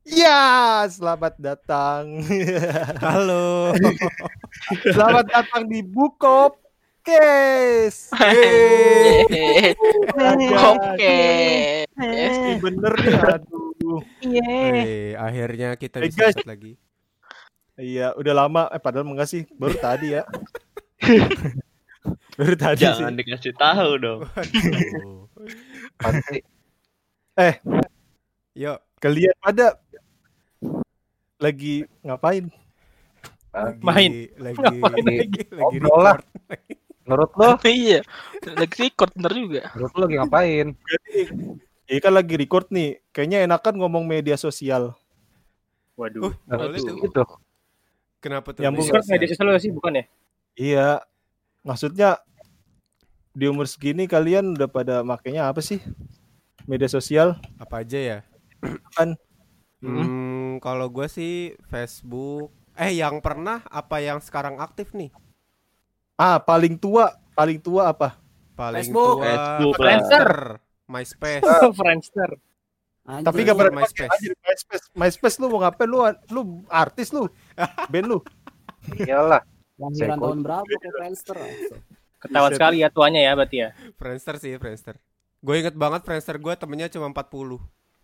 Ya, selamat datang. Halo. Selamat datang di Bukop Case. Oke. Ini bener nih, aduh. Akhirnya kita bisa Guys, start lagi. iya udah lama. Padahal enggak sih, baru tadi ya. Baru tadi Jangan sih. dikasih tahu dong. Waduh. Yuk, Kalian pada lagi ngapain? lagi Ngobrol lah. record. Menurut lo, Iya, lagi record bener juga. menurut lo lagi ngapain? Ini kan lagi record nih. Kayaknya enakan ngomong media sosial. Waduh. Boleh tuh. Gitu. Kenapa tuh? Yang Discord media sosial sih bukan ya? Iya. Maksudnya di umur segini kalian udah pada makainya apa sih? Media sosial? Apa aja ya? Kan Kalau gue sih Facebook. Yang pernah apa yang sekarang aktif nih? paling tua apa? Paling Facebook. tua Facebook lah. Friendster, MySpace. Friendster. Tapi gak pernah pakai MySpace. anjir, MySpace lu mau ngapain lu artis lu. Band lu. Iyalah. Lahiran Seko. tahun berapa ke Friendster? Ketahuan Buset. sekali ya tuanya ya berarti ya. Friendster sih, Friendster. Gue inget banget Friendster gue temennya cuma 40.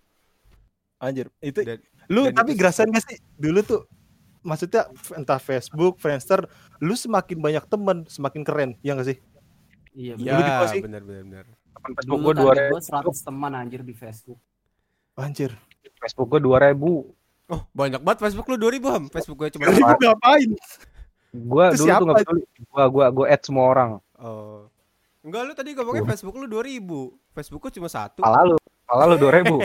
Anjir, itu Dan- lu dan tapi itu gerasan gak sih dulu tuh? Maksudnya entah Facebook, Friendster, lu semakin banyak teman, semakin keren, ya gak sih? Iya, Ya, Dulu di pos sih. benar. Facebook Dulu gue target 2000. gue 100 teman anjir di Facebook. Anjir. Facebook gue 2000. Oh, banyak banget Facebook lu 2000, Ham. Facebook gue cuma Lu ngapain? Gue Itu dulu siapa? tuh nggak peduli. Gue add semua orang. Oh. Enggak, lu tadi ngomongnya Facebook lu 2000. Facebook gue cuma 1. Pala lu 2000.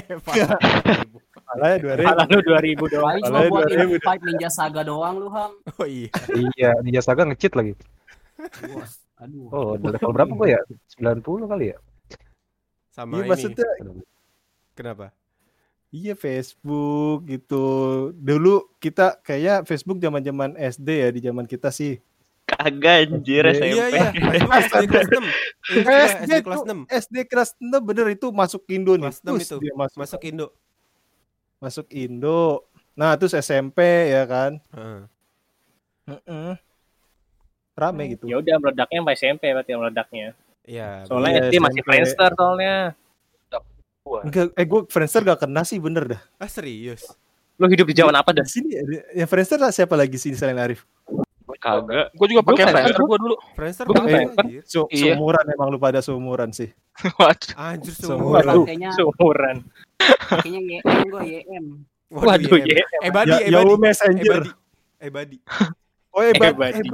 Malah 2000. Malah lu 2000 doang. Paling cuma Malah buat 2000. invite Ninja Saga doang lu, Ham. Oh iya. Iya, Ninja Saga nge-cheat lagi. Bos. Aduh. Oh, udah level berapa gue ya? 90 kali ya? Sama Iya ini. maksudnya Kenapa? iya Facebook gitu. Dulu kita kayak Facebook zaman-zaman SD ya, di zaman kita sih. Kagak anjir SMP. Iya. Facebook SD kelas 6. SD kelas 6. SD kelas 6 bener itu masuk Indo nih. Kelas 6 Terus itu. dia Masuk Indo. masuk Indo. Nah, terus SMP ya kan. Heeh. Heeh. Rame gitu. Ya udah meledaknya sampai SMP berarti yang meledaknya. Iya. Soalnya Iya, SD masih SMP. Friendster soalnya. Enggak, gue Friendster gak kena sih bener dah. Ah, serius. Lu hidup di zaman apa dah? Di sini yang Friendster lah siapa lagi sini selain Arif? Kagak. Gue juga pakai Gua Friendster gue dulu. Friendster Gua banget, Friendster. anjir. Iya. Seumuran emang lu pada seumuran sih. Waduh. Anjir Seumuran. seumuran. Pakainya Seumuran. pakainya YM gue YM. Waduh, iya. iya. Badi. Yahoo Messenger. Badi. Oh, Ebadi.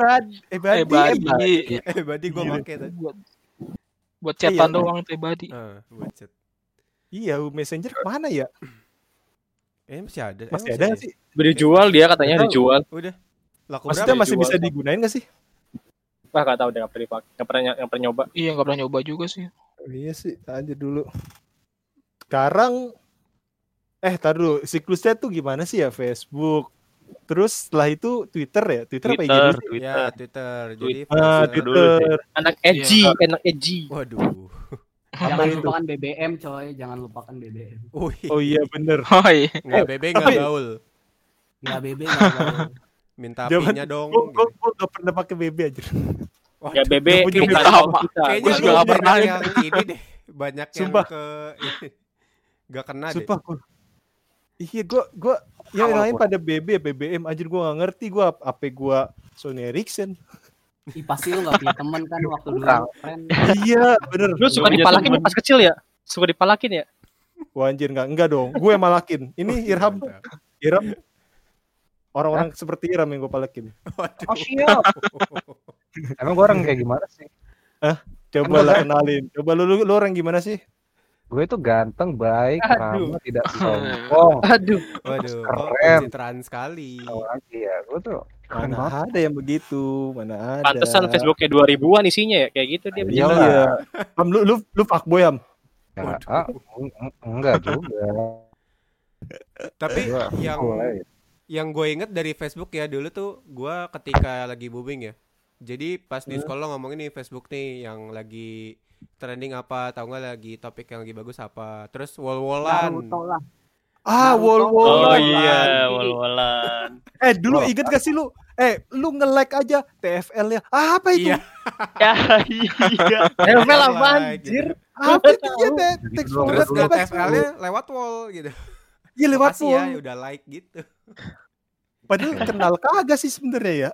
Badi gue Iya. pakai tadi. Buat chatan Iya. doang tuh Badi. Buat chat. Iya, Yahoo Messenger mana ya? Masih ada. Masih ada nggak sih? Udah dijual dia katanya Nggak tahu. dijual. Udah. Laku Maksudnya berapa? masih dijual, bisa Pak? digunain nggak sih? Wah, enggak tahu deh enggak pernah dipakai. Enggak pernah nyoba. Iya, nggak pernah nyoba juga sih. Iya sih, aja dulu. Sekarang tar dulu, siklusnya tuh gimana sih ya Facebook? Terus setelah itu Twitter ya? Twitter apa IG dulu sih? Ya, Twitter. Jadi Twitter dulu sih. Anak edgy, anak edgy. Waduh. Jangan itu? lupakan BBM coy, jangan lupakan BBM. Oh iya bener. Oh iya. Nggak BB nggak tapi- gaul. Nggak BB nggak gaul. Minta Zaman- pinya dong. Gue gitu. gak pernah pakai BB aja. Waduh. Ya BB Nggak punya bukan BB kaum apa? kita. Kayaknya Gua lu juga nggak pernah banyak yang ini deh. Banyak yang Sumpah. ke nggak kena deh. Sumpah gue. Iya gue yang lain pada BB, BBM anjir gue gak ngerti gue apa gue Sony Ericsson. Ih, pasti lu nggak punya teman kan waktu dulu. Friend. Iya bener. Lu suka Gua punya dipalakin temen. pas kecil ya? Suka dipalakin ya? Wah anjir enggak dong. Gue yang malakin. Ini Irham. Mantap. Irham. Orang-orang seperti Irham yang gue palakin. Waduh. Oh siap. Emang gue orang kayak gimana sih? Coba lah kenalin. Coba lu orang gimana sih? Gue itu ganteng, baik, Aduh. ramah, tidak sombong. Aduh. Waduh, kok Keren. pencitraan sekali. Tahu lagi ya, gue tuh keren banget. Mana ada yang begitu? Mana ada? Pantesan Facebooknya 2000-an isinya ya, kayak gitu dia. Iya. Iya. Ham, lu fuckboy Ham. Ya, enggak juga. Tapi Gua- yang gue inget dari Facebook ya dulu tuh gue ketika lagi booming ya. Jadi pas di sekolah ngomongin nih Facebook nih yang lagi trending apa, tahu nggak lagi topik yang lagi bagus apa. Terus wall-wallan. Naruto lah. Wall. Oh iya, wal-walan. Dulu inget gak sih lu? Lu nge-like aja TFL-nya. Apa itu? Iya. Ya iya. TFL apa anjir? Apa itu ya? Teks Dulu, Terus forward ke apa? TFL-nya lewat wall gitu. Iya lewat Makasih ya, wall. udah like gitu. Padahal kenal kagak sih sebenarnya ya.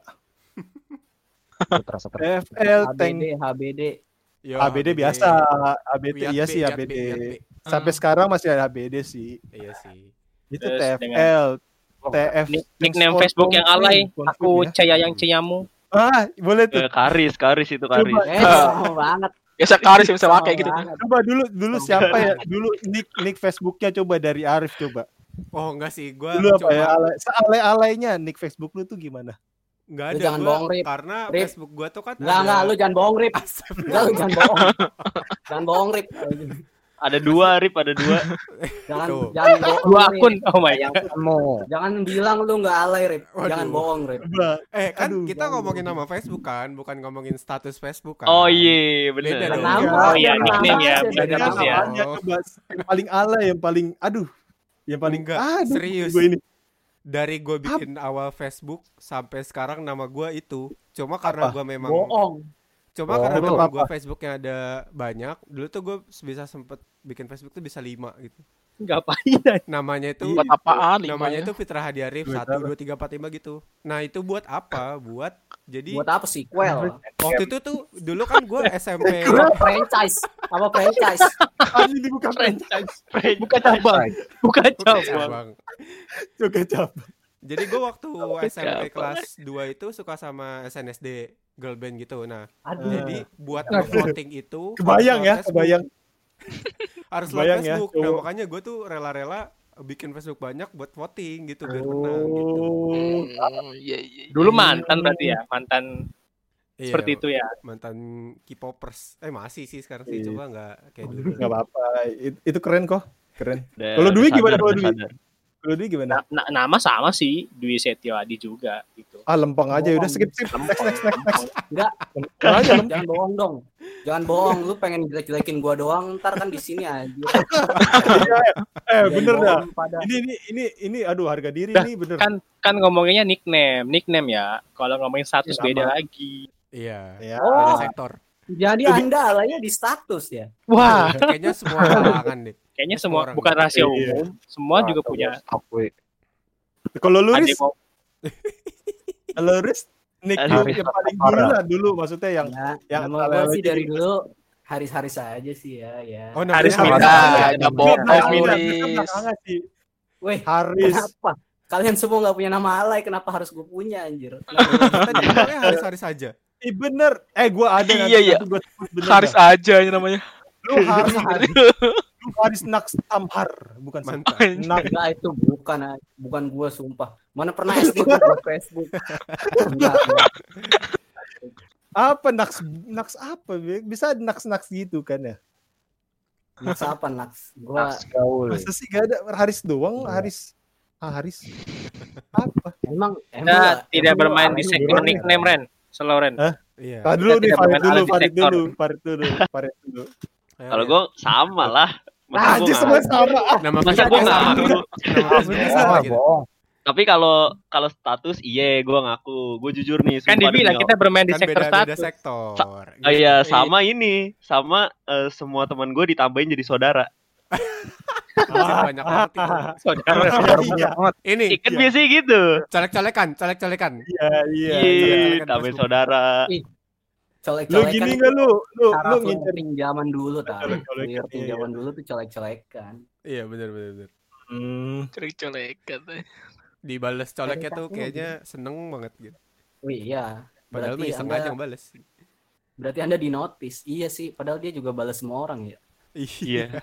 Terasa TFL, tank HBD. Yo, ABD biasa. ABD Wiat iya B, sih Wiat ABD. B, Wiat B. Sampai sekarang masih ada ABD sih. Iya sih. Itu Terus TFL, TF. Nickname Facebook yang alay. Aku Caya yang Ciyamu. Boleh tuh. Karis itu Karis. Sama banget. Ya sekaris bisa pakai gitu. Coba dulu siapa ya? Dulu nick Facebooknya coba dari Arif coba. Oh enggak sih, gua Dulu apa ya? coba Sealay-alaynya nick Facebook lu tuh gimana? enggak Lu ada jangan gua bohong, Rip. karena Rip. Facebook gua tuh kan Enggak, lu jangan bohong, Rip. Enggak, lu jangan bohong. Jangan bohong, Rip. Ada dua, Rip, ada dua. Jangan Tuh. jangan bohong. Dua Rip. akun. Oh my god. Jangan bilang lu enggak alay, Rip. Waduh. Jangan bohong, Rip. Coba. kan Aduh, kita jangan ngomongin nama Facebook kan, bukan ngomongin status Facebook kan. Oh iya, Beda bener. dong. Kenapa? Oh iya, nickname ya. Beda Benar nama. ya. Namanya coba yang paling alay, yang paling yang paling Enggak, aduh, serius. Gue ini. Dari gue bikin awal Facebook sampai sekarang nama gue itu. Cuma karena Apa? gue memang Bohong. karena Betul, teman apa? gue Facebooknya ada banyak. Dulu tuh gue bisa sempet bikin Facebook tuh bisa 5 gitu. Ngapain? Namanya itu Buat apaan? namanya Lima itu Fitra Hadi Arif Buat 1 2 3 4 5 gitu. Nah, itu buat apa? Buat jadi Buat apa sequel? waktu itu tuh dulu kan gue SMP. Franchise. Apa franchise? Ini bukan franchise. Bukan cabang. Bukan Oke, cabang. Bang. Juga cap. Jadi gue waktu SMP kelas 2 itu suka sama SNSD girl band gitu. Nah, Aduh. jadi buat voting itu Kebayang ya, kebayang. harus Kebayang lewat ya, Facebook. Nah, cowok. makanya gue tuh rela-rela bikin Facebook banyak buat voting gitu biar menang gitu. Iya. Dulu mantan berarti ya, mantan Iya, seperti itu ya. mantan K-popers. Masih sih sekarang sih, Iya. coba nggak kayak dulu. Enggak apa-apa. Itu keren kok. Keren. Udah- Kalau Dwi udah gimana sadar, kalau udah Dwi? sadar. Kalau Dwi gimana? Nama sama sih, Dwi Setiawadi juga gitu. Lempeng aja udah Bohong. skip. Next. Enggak, Lempeng aja lempeng. jangan bohong dong. Jangan bohong, lu pengen jelek-jelekin gua doang, ntar kan di sini aja. Bener dah. Pada Ini aduh harga diri Dah, nih bener. Kan ngomonginnya nickname ya. Kalau ngomongin status Sama. beda lagi. Iya. Ya. Beda Oh, sektor. jadi Anda alaynya di status ya? Wah, Kayaknya semua kalangan deh. kayaknya Semua semua orang. bukan rahasia Iya. umum. Semua juga punya. Kalau lu Ada Riz, yang mau- kalau Riz nick lu Haris yang paling Asmara. dulu lah dulu maksudnya yang Ya, yang nama gua alay-alay sih gitu. dari dulu Haris aja sih ya. Oh, Haris namanya Minta. Ada bohong, Haris. Milis. sih. Weh, Haris. kenapa? Kalian semua nggak punya nama alay, kenapa harus gue punya anjir? Kita dibilangnya Haris saja. Bener. Gua ada nanti, Iya. nanti gua sebut bener Haris dah. aja ini namanya. Lu Haris Naks Tamhar, bukan Mantap. Enggak, itu bukan gue sumpah. Mana pernah SD gue buat Facebook? Enggak. apa Naks apa? Bisa Naks gitu kan ya? Naks apa Naks? Gua Masa sih gak ada Haris doang, Haris. Haris. Apa? emang Kita tidak emang bermain gua di alay sektor dulu. nickname Ren. Selalu Ren. Iya. Tahan dulu Kita nih, tidak Farid bermain dulu. alat detektor. Farid dulu. Ayo, Kalau Ren. gue sama lah. Masa gua Anjir semua ngaku? sama. nama Masa Facebook gue sama. ngaku? Nama Facebook sama gitu. Tapi kalau status gue ngaku. Gue jujur nih. Kan sumpah dibilang demi kita bermain di Kan sektor beda-beda status. sektor. Iya, sama ini. Sama semua teman gue ditambahin jadi saudara. Banyak banget itu. Saudara. Iya, Ini Kan biasanya gitu. colek-colekan. iya. Iya, colek-colekan tambahin Facebook. saudara. Lu gini enggak lu Cara ngincer flirting zaman dulu tadi. Colek-colekan, Flirting iya. zaman dulu tuh colek-colekan. Iya, benar. Colek-colekan. Dibales coleknya tuh kayaknya seneng banget gitu. Wih, iya. Padahal mah iseng aja ngebales. Berarti Anda di notice. Iya sih, padahal dia juga balas semua orang ya. Iya.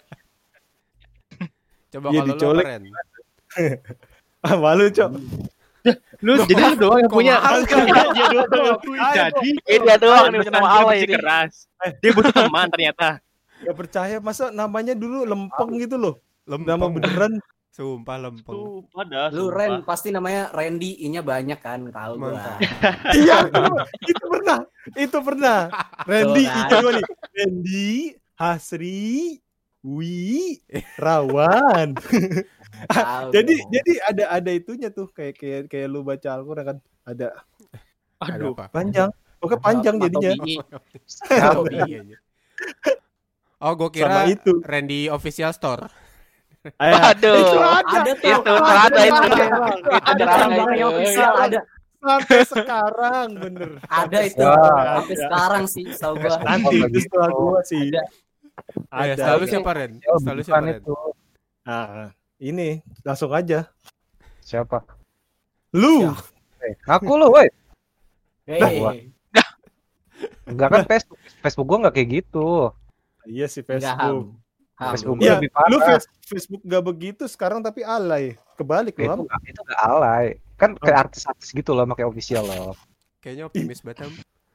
Coba Iya, kalau lu dicolek. keren. Malu, Cok. Lu jadi lu doang yang Kok punya. mahal, Cok? Dia doang. Jadi Dia doang nih punya nama dia alay bersih ini. keras. Dia butuh teman ternyata. Gak percaya masa namanya dulu lempeng gitu loh. Nama Lempeng. beneran. Sumpah lempeng. Sumpah dah. Lu sumpah. Ren pasti namanya Randy, I-nya banyak kan, tahu gua. Mantap. Iya, itu pernah. Randy Tuh, kan. itu nih. Randy, Hasri, Wi, Rawan. Tahu Jadi dong. ada itunya tuh kayak lu baca Al-Qur'an kan ada Aduh. Apa? panjang. Oke panjang jadinya. Tobi aja. Oh, gue Sama kira itu. Randy Official Store. Waduh. Itu Ada tuh. Itu ada itu. Ada Itu cabangnya official ada. Sampai sekarang bener. Ada itu. Wah. Sampai sekarang sih tahu gua. Nanti itu setelah gua sih. Ada. Ya, Ada. selalu Oke. siapa Ren? Ya, Selalu bukan siapa Ren? itu. Nah, ini langsung aja. Siapa? Lu. Aku lo, woi. Hei. Enggak kan Facebook gua enggak kayak gitu. Iya sih Enggak, Facebook. Ham. Facebook Iya, lebih parah. lu Facebook gak begitu sekarang tapi alay. Kebalik lu, Ham. Itu enggak alay. Kan kayak artis-artis gitu loh pakai official loh. Kayaknya optimis banget. Ham.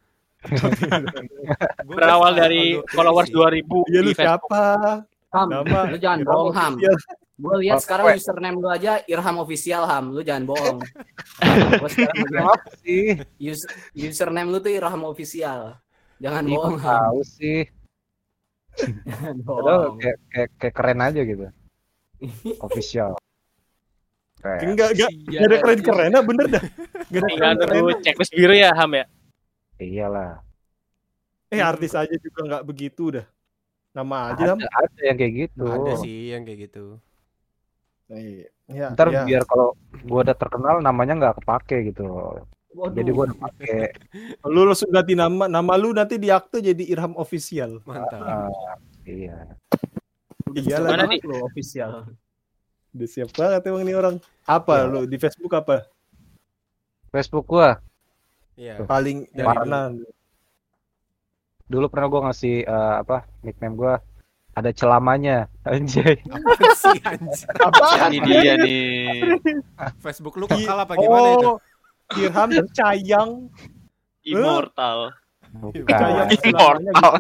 Gua Berawal bisa dari agak followers optimis sih. 2000 Iya lu di Facebook. siapa? Ham, Nama lu jangan Irham bohong Ham. Official. Gue lihat Oh, sekarang weh. username lu aja Irham Official Ham. Lu jangan bohong. Gua sekarang lihat Apa sih? username lu tuh Irham Official. Jangan Ih, bohong kok Ham. tahu sih. Jangan Padahal bohong. kayak keren aja gitu. Official. Keren. Enggak ada keren-kerennya bener dah. Gak ada Tinggal keren-kerennya. nunggu checklist biru ya Ham ya. Iyalah. Artis aja juga nggak begitu dah. Nama aja Ham. Ada yang kayak gitu. Ada sih yang kayak gitu. Iya, Ntar iya. biar kalau gua udah terkenal namanya nggak kepake gitu. Waduh. Jadi gua udah pakai. Lu langsung ganti nama lu nanti di akte jadi Irham Official. Mantap. Iya. Iyalah. Mana Banget lu official. Udah siap banget emang nih orang. Apa Iya. lu di Facebook apa? Facebook gua Iya. Paling Dari warna. dulu pernah gua ngasih nickname gua ada celamanya anjay. Apa sih anjir? Apa? Ini dia nih. Facebook lu kekal apa gimana itu? Irham dan Cayang. Immortal. Bukan. Cayang Immortal.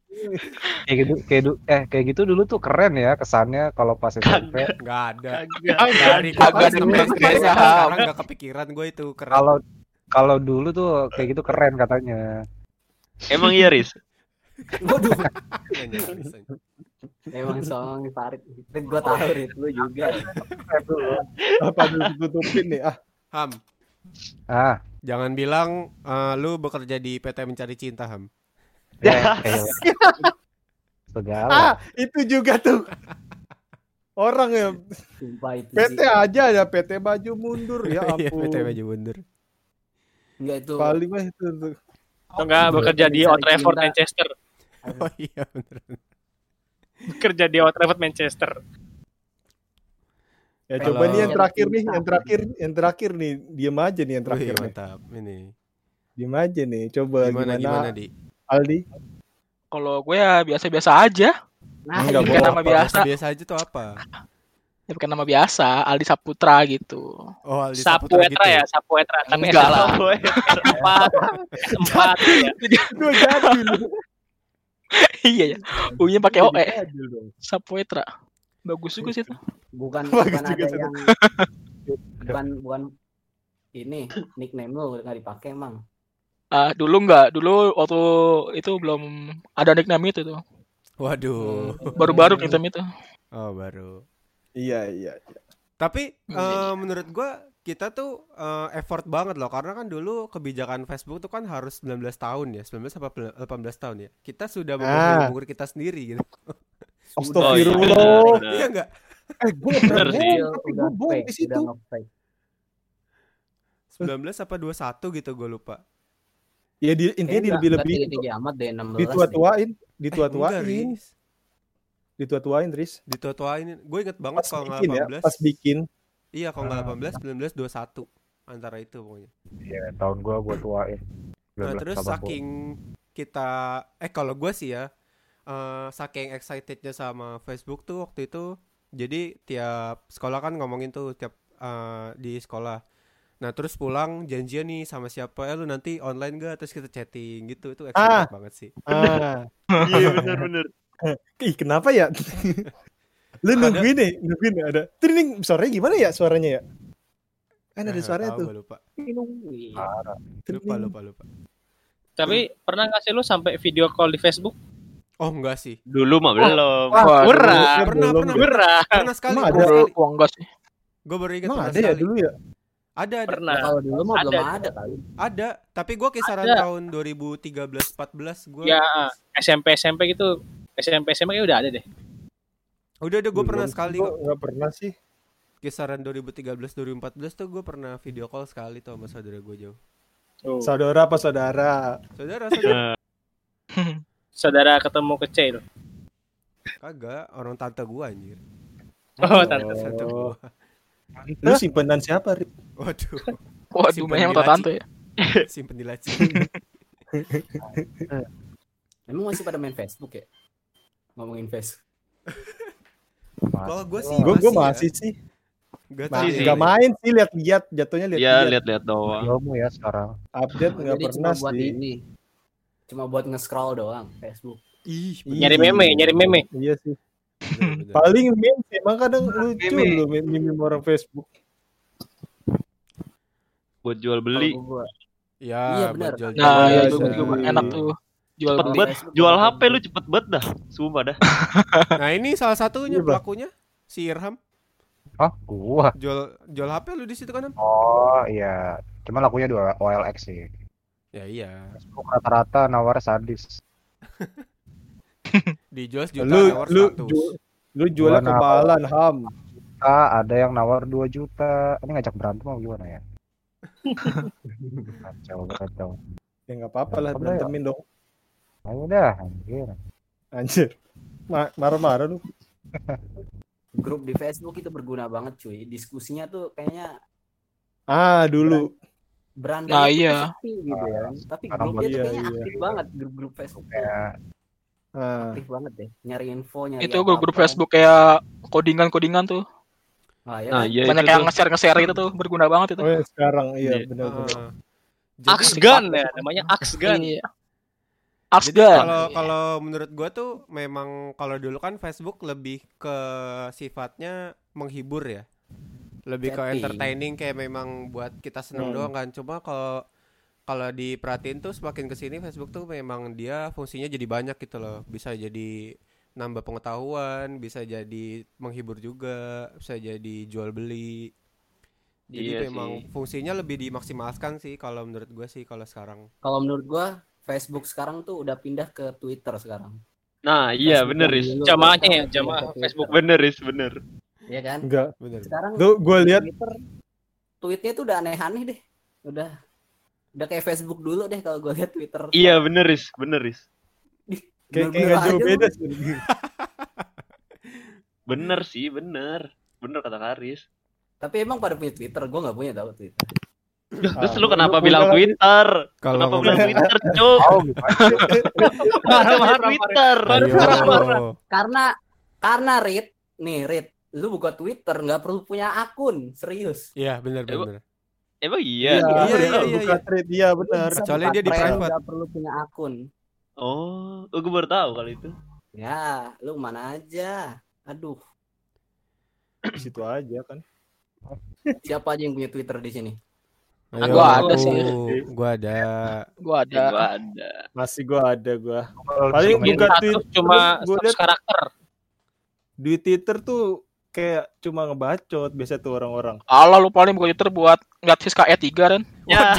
Kayak gitu dulu tuh keren ya kesannya kalau pas SMP. Enggak ada. Kagak. Dari Kagak kapan ada sampai keren-kerennya, sekarang Ham. enggak kepikiran gue itu keren. Kalau dulu tuh kayak gitu keren katanya. Emang iya, Riz? Waduh. Iya, nyaris aja. Emang song Farid. Rit gua tahu Rit lu juga. Apa dulu tutupin nih? Ham, Ah, jangan bilang lu bekerja di PT Mencari Cinta, Ham. ya, segala. Itu juga tuh. Orang ya Sumpah itu PT sih. aja ada PT baju mundur ya Iya, ampun. PT Baju Mundur. Enggak itu. Paling mah itu tuh. Atau enggak bekerja di Old Trafford Manchester. Oh iya bener. Bekerja di Old Trafford Manchester. Ya Kalau- coba nih yang terakhir nih, diam aja nih yang terakhir Wih, nih. mantap. Ini. Diam aja nih, coba Gimana Di? Aldi? Kalau gue ya biasa-biasa aja. Nah, Enggak, ini Bukan bohong. nama biasa. Biasa aja tuh apa? Ya bukan nama biasa. Aldi Saputra gitu. Oh, Aldi Saputra Sapuetra ya, Sapuetra. Tapi Enggak lah. S4. S4 ya. Gue jadul. Iya ya. U-nya pakai OE. Jadul dong. Saputra. Bagus juga sih itu. bukan Bagus bukan juga ada satu. yang bukan ini nickname lu nggak dipakai emang. Dulu enggak. Dulu waktu itu belum ada nickname itu tuh. Waduh. Baru-baru nickname itu. Oh, baru. Iya. Tapi menurut gua kita tuh effort banget loh karena kan dulu kebijakan Facebook tuh kan harus 19 tahun ya, 19 apa 18 tahun ya. Kita sudah memenuhi umur kita sendiri gitu. Astagfirullah. Iya enggak? Gue Bener sih. Udah bohong fake, di situ. udah nge-fake. 19 apa 21 gitu gue lupa. Ya intinya Nggak lebih-lebih tinggi amat deh 16. dituatuain, Enggak, dituatuain, Riz. dituatuin, Tris. Dituatuain. Gue inget banget Pas kalau nggak bikin ya, 18. pas bikin. Iya, kalau nggak 18, 19, 21 antara itu pokoknya. Iya, tahun gua tuain. Nah, terus 1980. saking kita kalau gue sih ya saking excitednya sama Facebook tuh waktu itu, jadi tiap sekolah kan ngomongin tuh tiap di sekolah. Nah terus pulang janjian nih sama siapa lu nanti online gak, terus kita chatting gitu, itu excited banget sih. Iya benar. Ih kenapa ya? Lu nungguin ada. Training suaranya gimana ya suaranya ya? Kan ada suaranya Tahu, tuh. gua lupa. Lupa. Tapi pernah nggak sih lu sampai video call di Facebook? Oh enggak sih. Dulu mah belum. Wah, Pernah. Pernah Pernah. sekali. Emang Pernah ada? sekali. Wah, enggak sih. Gue baru ingat Emang pernah ada ya sekali. dulu ya? Ada. Pernah. Kalau dulu mah belum Ada. ada kali. Ada, tapi gue kisaran Ada. tahun 2013-14 gue. Ya SMP gitu. SMP SMA kayak udah ada deh. Udah gue pernah Belum, sekali gua kok. nggak pernah sih. Kisaran 2013-2014 tuh gue pernah video call sekali tuh sama saudara gue jauh. Oh. Saudara apa saudara? Saudara. Saudara ketemu kecil. Kagak, orang tante gue anjir. Oh, tante. Tante gua. Lu simpenan siapa, Rip? Waduh, Waduh, Simpen banyak di tante laci. tante ya. simpen di laci. Emang masih pada main Facebook ya? Ngomongin Facebook. Kalau gue sih Gue masih, masih sih. Gak Masih sih. Nggak main sih, lihat-lihat jatuhnya Iya, lihat-lihat. lihat-lihat doang. Ilmu ya sekarang. Update nggak Jadi pernah cuma buat sih. ini. Cuma buat nge-scroll doang Facebook. Ih, Nyari meme. Iya sih. bener. Paling meme sih, emang kadang lucu lu meme orang Facebook. Buat jual beli. Kalau gua Ya, Iya, buat benar. jual-jual. Nah, Iya, itu iya. juga enak tuh. Jual Cepet beli. banget. Jual HP lu cepet banget dah. Sumpah dah. Nah, ini salah satunya Iya, Bang. pelakunya si Irham. Oh, gua. Jual HP lu di situ kan, Am? Oh, iya. Cuma lakunya 2 OLX sih. Ya iya. Facebook rata-rata nawar sadis. Dijual sejuta Lu nawar lu 100. lu jualnya Gua kebalan, Ham. Ada yang nawar 2 juta. Ini ngajak berantem mau gimana ya? Kacau. Ya nggak apa-apa lah, Apa ya? berantemin dong. Ayo dah, anjir. Anjir. Marah-marah lu. grup di Facebook itu berguna banget cuy. Diskusinya tuh kayaknya Dulu. berandai Nah, itu iya. sepi gitu ya. Tapi Sekarang grupnya tuh iya, kayaknya iya. aktif banget. Grup-grup Facebook tuh Kayak aktif banget deh. Nyari info, nyari Itu grup-grup apa-apa. Facebook kayak kodingan tuh. Ah, ya Nah, kan? iya Banyak itu yang tuh. nge-share gitu tuh, berguna banget itu. Oh ya sekarang iya Iya. benar-benar. Jadi Axgan ya, namanya Axgan. Iya. Jadi Axgan. kalau menurut gua tuh memang kalau dulu kan Facebook lebih ke sifatnya menghibur ya. Lebih ke Chatting. entertaining kayak memang buat kita seneng Hmm. doang kan. Cuma kalau diperhatiin tuh semakin kesini Facebook tuh memang dia fungsinya jadi banyak gitu loh. Bisa jadi nambah pengetahuan, bisa jadi menghibur juga, bisa jadi jual beli. Jadi Iya memang sih. fungsinya lebih dimaksimalkan sih kalau menurut gua sih kalau sekarang. Kalau menurut gua Facebook sekarang tuh udah pindah ke Twitter sekarang. Nah, iya Facebook bener, yang Riz. dulu Jamaahnya sekarang ya, pindah jamaah ke Twitter. Facebook. Bener, Riz, bener. Iya kan? Enggak. Bener. Sekarang Tuh gue lihat Twitter tweetnya tuh udah aneh-aneh deh. Udah kayak Facebook dulu deh kalau gua lihat Twitter. Iya bener, Riz. Bener, Riz. kayak Bener-bener nggak jauh aja beda lu. sih. Bener sih, bener. Bener kata Karis. Tapi emang pada punya Twitter, gua nggak punya tahu Twitter. Terus lu kenapa lu bilang punya lagi. Twitter? Kalau Kenapa ngomong- bilang Twitter, Cuk? tahu gimana? Kenapa Twitter? Ayo. Karena Rit, lu buka Twitter nggak perlu punya akun, serius. Iya, benar. Emang iya. Buka thread dia benar. Bisa Kecuali buka dia di thread, private. nggak perlu punya akun. Oh, gue baru tahu kali itu. Ya, lu mana aja. Aduh, Di situ aja kan. siapa aja yang punya Twitter di sini? Ayo. Gua ada sih. Gua ada. Gua ada. Ya, gua ada. Masih gua ada gua. Paling Bikin buka status Twitter cuma gua status liat karakter. di Twitter tuh kayak cuma ngebacot biasa tuh orang-orang. Allah lu paling buka Twitter buat ngeliat Siska E3 kan. Ya,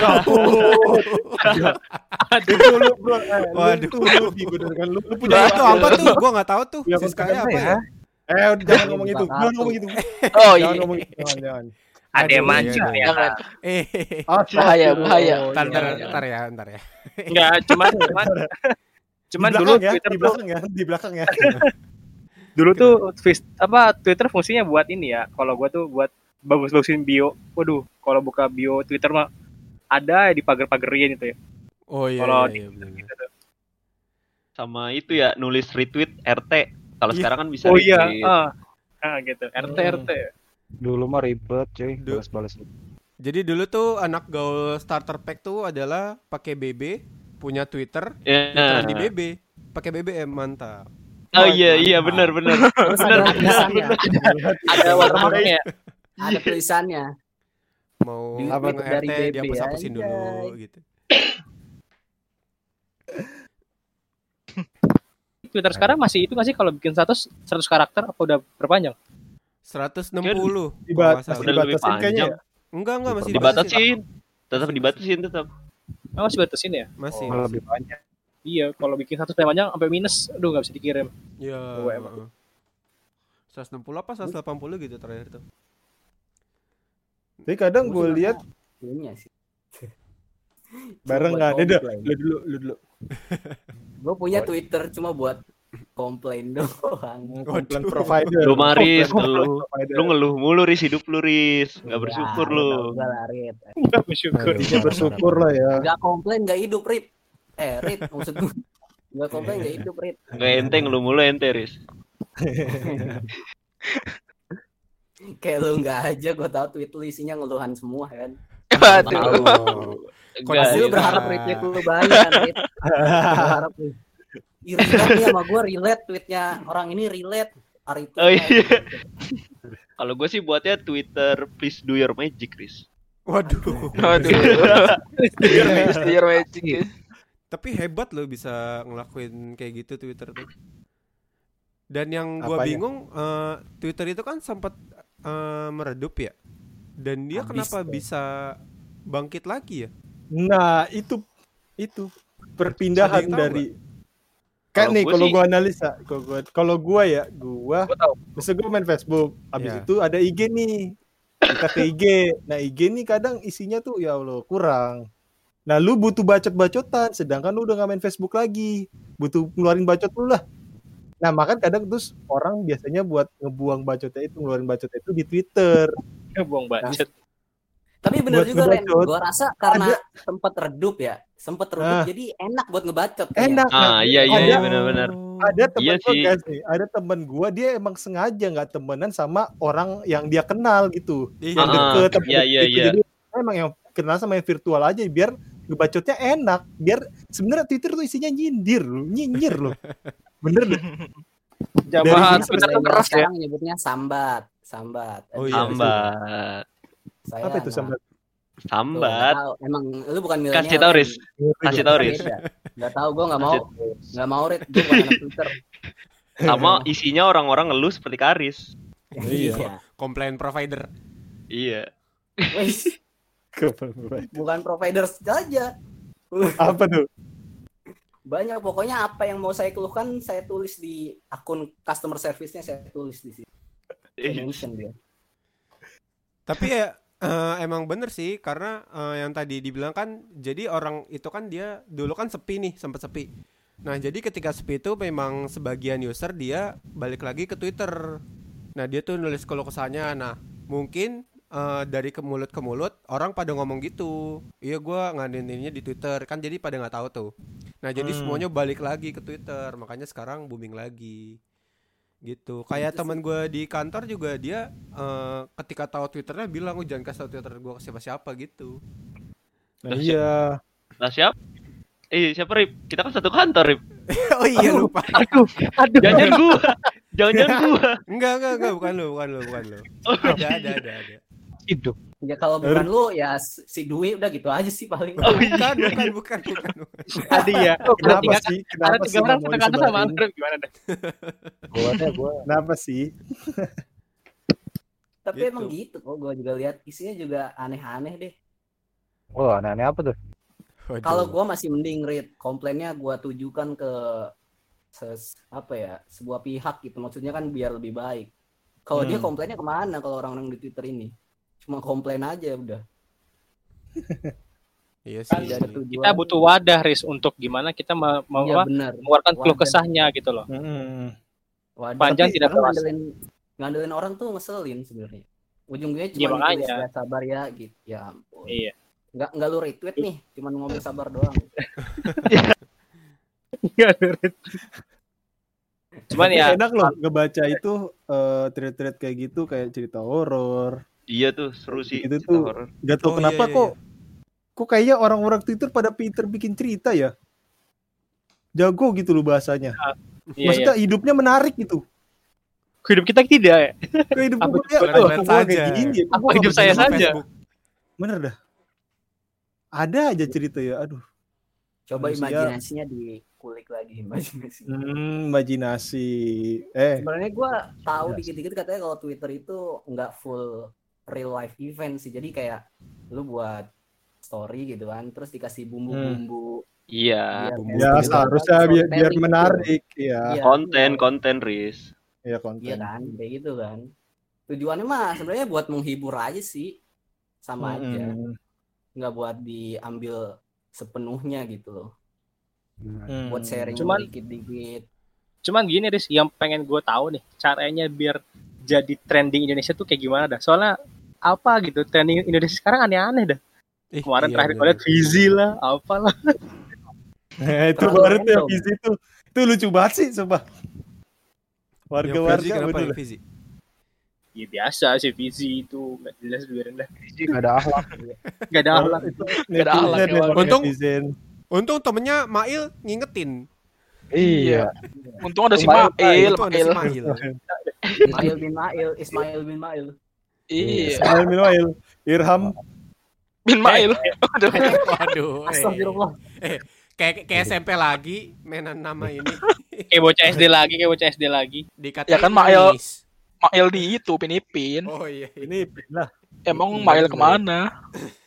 Itu lu bro, Waduh. lu bener kan lu Nah, punya itu apa tuh? Gua nggak tahu tuh. Ya, Siskanya kontennya apa ya? jangan ngomong itu. Buka Jangan kartu. ngomong itu. Oh Jangan iya. ngomong itu. Jangan. Ada yang Aduh, maju iya, ya. Jangan. Eh, Bahaya. ntar, Jangan. ntar ya. Enggak, cuman Di dulu belakang ya, Twitter di tuh belakang ya, di belakang ya. dulu tuh Twitter fungsinya buat ini ya. Kalau gua tuh buat bagus-bagusin bio. Waduh, kalau buka bio Twitter mah ada di pagar-pagerin itu ya. Oh iya, Kalau iya, bener. Gitu tuh. sama itu ya nulis retweet RT. Kalau Iya. sekarang kan bisa Oh iya, retweet. gitu. RT. Dulu mah ribet cuy, Du- balas-balas. Jadi dulu tuh anak gaul starter pack tuh adalah pakai BB, punya Twitter, Ya. Twitteran di BB, pakai BBM, mantap. Oh iya benar. Terus ada tulisannya, Ada watermarknya. ada tulisannya. Mau Di- apa dari RT dia BB, hapus-hapusin anjay. dulu gitu. Twitter sekarang masih itu nggak sih kalau bikin status 100 karakter apa udah berpanjang? 160. Masih Udah lebih dibatasin kayaknya ya. Enggak masih Dibatasin. Tetap dibatasin tetap. Masih batasin ya? Masih. Lebih banyak. Iya, kalau bikin satu panjang sampai minus, aduh nggak bisa dikirim. Iya. emang. 160 apa 180 gitu terakhir tuh. Tapi kadang gue lihat Punya sih. bareng nggak ada dah. Lu dulu. Gue punya Twitter cuma buat komplain doang. Komplain provider. Lu Maris, Komplain lu provider. ngeluh mulu Riz, hidup lu Riz. Enggak bersyukur lu. Enggak lah, Rit. Nggak bersyukur. Intinya bersyukur lah ya. Enggak komplain enggak hidup, Rit. Rit maksud gue. Enggak komplain enggak hidup, Rit. Enggak ente ngeluh mulu ente Riz. Kayak lu enggak aja, gue tahu tweet lu isinya ngeluhan semua kan. Waduh. Pasti lu berharap retweet lu banyak kan, Rit. Berharap lu. Relate nih sama gue, relate tweetnya orang ini relate. Hari itu. Oh iya. Kalau gue sih buatnya Twitter please do your magic Riz. Waduh. Steer magic ya. Tapi hebat loh bisa ngelakuin kayak gitu Twitter tuh. Dan yang gue Apanya? bingung, Twitter itu kan sempat meredup ya. Dan dia Habis kenapa tuh. bisa bangkit lagi ya? Nah, itu perpindahan Ada yang tahu dari kan Kalau nih gua kalau sih- gua analisa, kalau gua tahu. bisa gua main Facebook, habis Ya. itu ada IG nih. Kita ke IG. Nah, IG nih kadang isinya tuh ya Allah kurang. Nah, lu butuh bacot-bacotan, sedangkan lu udah gak main Facebook lagi. Butuh ngeluarin bacot lu lah. Nah, makanya kadang terus orang biasanya buat ngebuang bacotnya itu, ngeluarin bacotnya itu di Twitter. Buang budget. Tapi bener Buat juga Ren, ngebacot. gue rasa karena sempat redup ya, Ah. jadi enak buat ngebacot. kayaknya. Enak. Ah, iya ada, benar-benar. ada temen Iya gua sih. guys nih, ada temen gua dia emang sengaja nggak temenan sama orang yang dia kenal gitu, yang Ah, deket. iya, iya, gitu. iya. Jadi emang yang kenal sama yang virtual aja biar ngebacotnya enak, biar sebenarnya Twitter tuh isinya nyinyir loh. Bener deh. Jamaah Dari- Twitter tuh Saya keras ya. sekarang nyebutnya sambat. Oh iya. Sambat. Saya Apa itu nggak- sambat? tuh, Sambat. nggak tahu. Emang lu bukan milenial. Kasih tau Riz. Kasih tau Riz. Gak tau, gue nggak mau Rit, gue bukan anak Twitter. Sama isinya orang-orang ngeluh seperti Karis. Iya. Komplain provider. Iya. Wih, bukan provider saja. Apa tuh? Banyak pokoknya apa yang mau saya keluhkan saya tulis di akun customer service-nya, saya tulis di situ. Saya mention dia. Tapi ya emang bener sih karena yang tadi dibilang kan jadi orang itu kan dia dulu kan sepi nih, sempat sepi. Nah, jadi ketika sepi itu memang sebagian user dia balik lagi ke Twitter. Nah, dia tuh nulis keluh kesahnya. Nah, mungkin dari ke mulut orang pada ngomong gitu. Iya, gua ngadainnya di Twitter kan jadi pada nggak tahu tuh. Nah, jadi semuanya balik lagi ke Twitter. Makanya sekarang booming lagi. Gitu. Kayak teman gue di kantor juga dia ketika tahu Twitternya bilang, "Oh, jangan kasih tahu Twitter gue ke siapa-siapa" gitu. Nah, iya. Lah siapa? Siapa Rip? Kita kan satu kantor Rip. Oh iya, lupa. Aduh. Jangan gua. Jangan gua. Enggak, bukan lu. Oh, Ada. Hidup. Ya kalau bukan lu ya si Dwi udah gitu aja sih paling. Oh, iya. Bukan. Tadi ya. Kenapa sih? Ada Kenapa 3 sih orang nggak mau satu kantor sama disebarin? Andre gimana dah? Gua Kenapa sih? Tapi Gitu. emang gitu kok, gue juga lihat isinya juga aneh-aneh deh. wah, aneh-aneh apa tuh? Waduh. Kalau gue masih mending read komplainnya gue tujukan ke sebuah pihak gitu, maksudnya kan biar lebih baik. Kalau dia komplainnya kemana kalau orang-orang di Twitter ini cuma komplain aja udah. Iya Kan sih. Tidak ada tujuan. Kita butuh wadah Riz untuk gimana kita mau Iya apa, benar. mengeluarkan keluh Wadah. kesahnya gitu loh. Wadah. Panjang Tapi tidak karena puas. ngandelin orang tuh ngeselin sebenarnya. Ujung-ujungnya Iya, cuma makanya. ditulis, "Ya, sabar ya gitu. Ya ampun. Iya. Nggak lu retweet nih, cuma ngomong sabar doang. Cuman Tapi ya enak loh ngebaca itu thread-thread kayak gitu, kayak cerita horor. Iya tuh seru sih. Itu cerita tuh. horor. Gak tau Oh, kenapa iya. kok kayaknya orang-orang Twitter pada pinter bikin cerita ya. Jago gitu loh bahasanya. iya, Maksudnya hidupnya menarik gitu. hidup kita tidak ya. Kayak hidup Apa gue tuh? ya, Kalian kok lihat gua kayak saja. gini, kok Apa gua hidup nggak saya begini? saja? Facebook. Bener dah. Ada aja cerita ya, aduh. Coba Manusia. imajinasinya dikurangi kulik lagi imajinasi. Imajinasi. Sebenarnya gue tahu Yes. dikit-dikit katanya kalau Twitter itu nggak full real life event sih. Jadi kayak lu buat story gitu kan, terus dikasih bumbu-bumbu. Iya. biar Ya kayak seharusnya biar storytelling gitu. menarik ya. Iya, Konten Riz. Ya iya konten. kan, kayak gitu kan. Tujuannya mah sebenarnya buat menghibur aja sih, sama aja. Nggak buat diambil sepenuhnya gitu loh. Buat sharing Cuman- dikit-dikit. Cuman gini Riz, yang pengen gue tahu nih caranya biar jadi trending Indonesia tuh kayak gimana dah. Soalnya apa gitu trending Indonesia sekarang aneh-aneh dah. Kemarin terakhir gue liat Fizi lah, apalah. Itu Terlalu baru tuh yang random. Fizi tuh. Itu lucu banget sih sumpah. Warga-warga kenapa bener. ya Fizi? Ya biasa sih Fizi itu nggak jelas biarin dah. Gak ada akhlak. Nggak ada akhlak. Itu Gak ada akhlak, netizen, ya, Untung- netizen. Untung temennya Mail ngingetin. Iya. Untung ada si Mail, Mail. Untung ada si Mail. Ismail bin Mail. Iya. Ismail bin Mail, Irham. Bin Mail. Aduh. Waduh. Astagfirullah. Kayak SMP lagi mainan nama ini Kayak bocah SD lagi. dikatain Ya kan, Mail. Nis. Mail di itu Pinipin. Oh iya. Ini lah. Emang Mail kemana?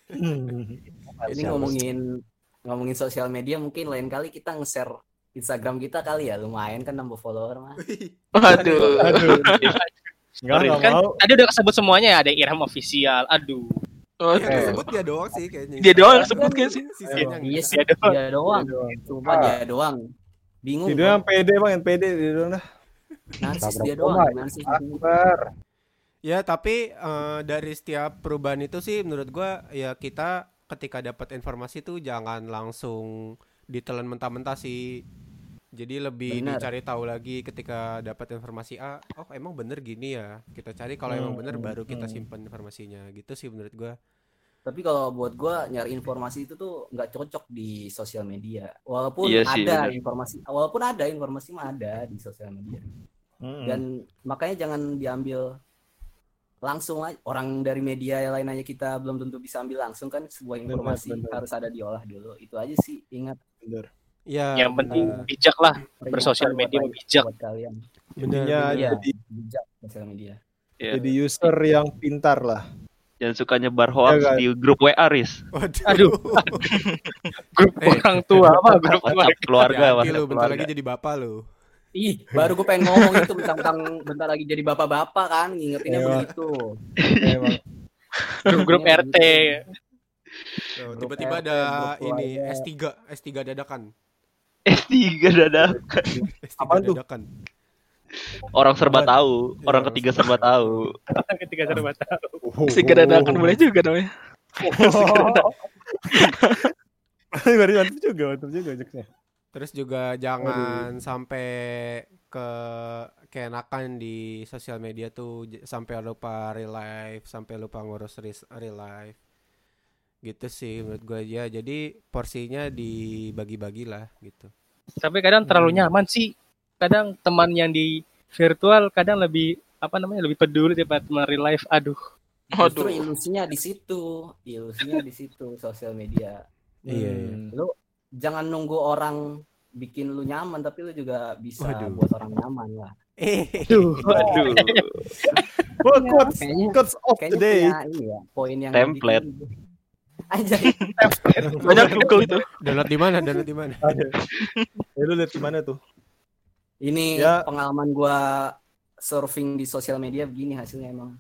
Ini ngomongin sosial media, mungkin lain kali kita nge-share Instagram kita kali ya, lumayan kan nambah follower mah. Aduh. Aduh. Enggak Kan mau. tadi udah kesebut semuanya ya, ada Irham official. Aduh. Yang disebut dia doang sih kayaknya. Dia doang yang sebut kan sih. Sisanya Iya sih, Dia doang. dia doang. Dia doang. Cuma dia doang. Bingung. Itu yang pede bang, yang pede dia doang dah. Narsis Tabrak dia doang, bola, narsis. Akbar. Ya tapi dari setiap perubahan itu sih menurut gua ya kita ketika dapat informasi tuh jangan langsung ditelan mentah-mentah sih. Jadi lebih Bener. dicari tahu lagi ketika dapat informasi oh emang bener gini ya. Kita cari kalau emang bener baru kita simpan informasinya. Gitu sih menurut gua. Tapi kalau buat gue nyari informasi itu tuh nggak cocok di sosial media. Walaupun Iya sih, ada bener. informasi mah ada di sosial media. Dan makanya jangan diambil langsung aja. Orang dari media yang lain aja kita belum tentu bisa ambil langsung kan, sebuah informasi bener. harus ada diolah dulu. Itu aja sih, ingat. Bener. Ya Yang penting bijak lah. Bersosial Peringatan media buat bijak. buat kalian. Intinya Iya, jadi bijak sosial media. Iya. jadi user yang pintar lah. Jangan suka nyebar hoax Iya, kan? di grup WA Riz. Aduh. Grup orang tua apa? Grup WhatsApp keluarga, Hati-hati WhatsApp lu bentar keluarga. lagi jadi bapak lu. Ih, baru gue pengen ngomong itu tentang bentar lagi jadi bapak-bapak kan, ngingetinnya Iya. begitu. Emang. Grup RT. Oh, Grup tiba-tiba RT, ada grup ini keluarga. S3 dadakan. S3 dadah. S3 Apaan tuh? dadakan. Orang serba tahu, orang ketiga serba tahu. Ketika serba tahu. Tiga dadakan boleh juga namanya. Mantap juga ojeknya. Terus juga jangan sampai keenakan di sosial media tuh sampai lupa real life, sampai lupa ngurus real life. Gitu sih menurut gue ya. Jadi porsinya dibagi-bagi lah gitu. Tapi kadang terlalu nyaman sih. Kadang teman yang di virtual kadang lebih lebih peduli daripada teman real life. Aduh. Justru Aduh. ilusinya di situ sosial media. Iya. Lu jangan nunggu orang bikin lu nyaman, tapi lu juga bisa Waduh. buat orang nyaman lah. Aduh. Wah, quotes Kayaknya of the day. punya ini ya, poin yang Template. dibikin. Aja. Banyak Google itu. Download di mana? Lu lihat di mana tuh? Ini Ya. pengalaman gua surfing di sosial media begini hasilnya emang.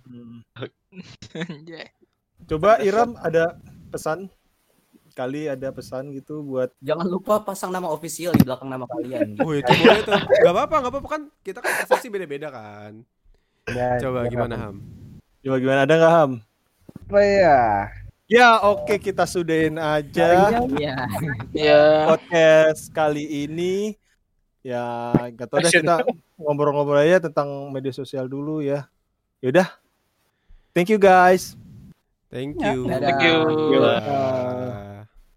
Coba Iram ada pesan? Kali ada pesan gitu buat Jangan lupa pasang nama official di belakang nama kalian. Oh itu boleh tuh. Gak apa-apa kan kita kan asumsi beda-beda kan. Coba gimana Ham? Coba gimana, ada nggak Ham? Apa ya? Ya oke, kita sudahin aja Iya. Ya. podcast kali ini. Ya nggak tahu deh, kita ngobrol-ngobrol aja tentang media sosial dulu ya. Yaudah, thank you guys. Thank you. Dadah. Thank you. Gila. Bye.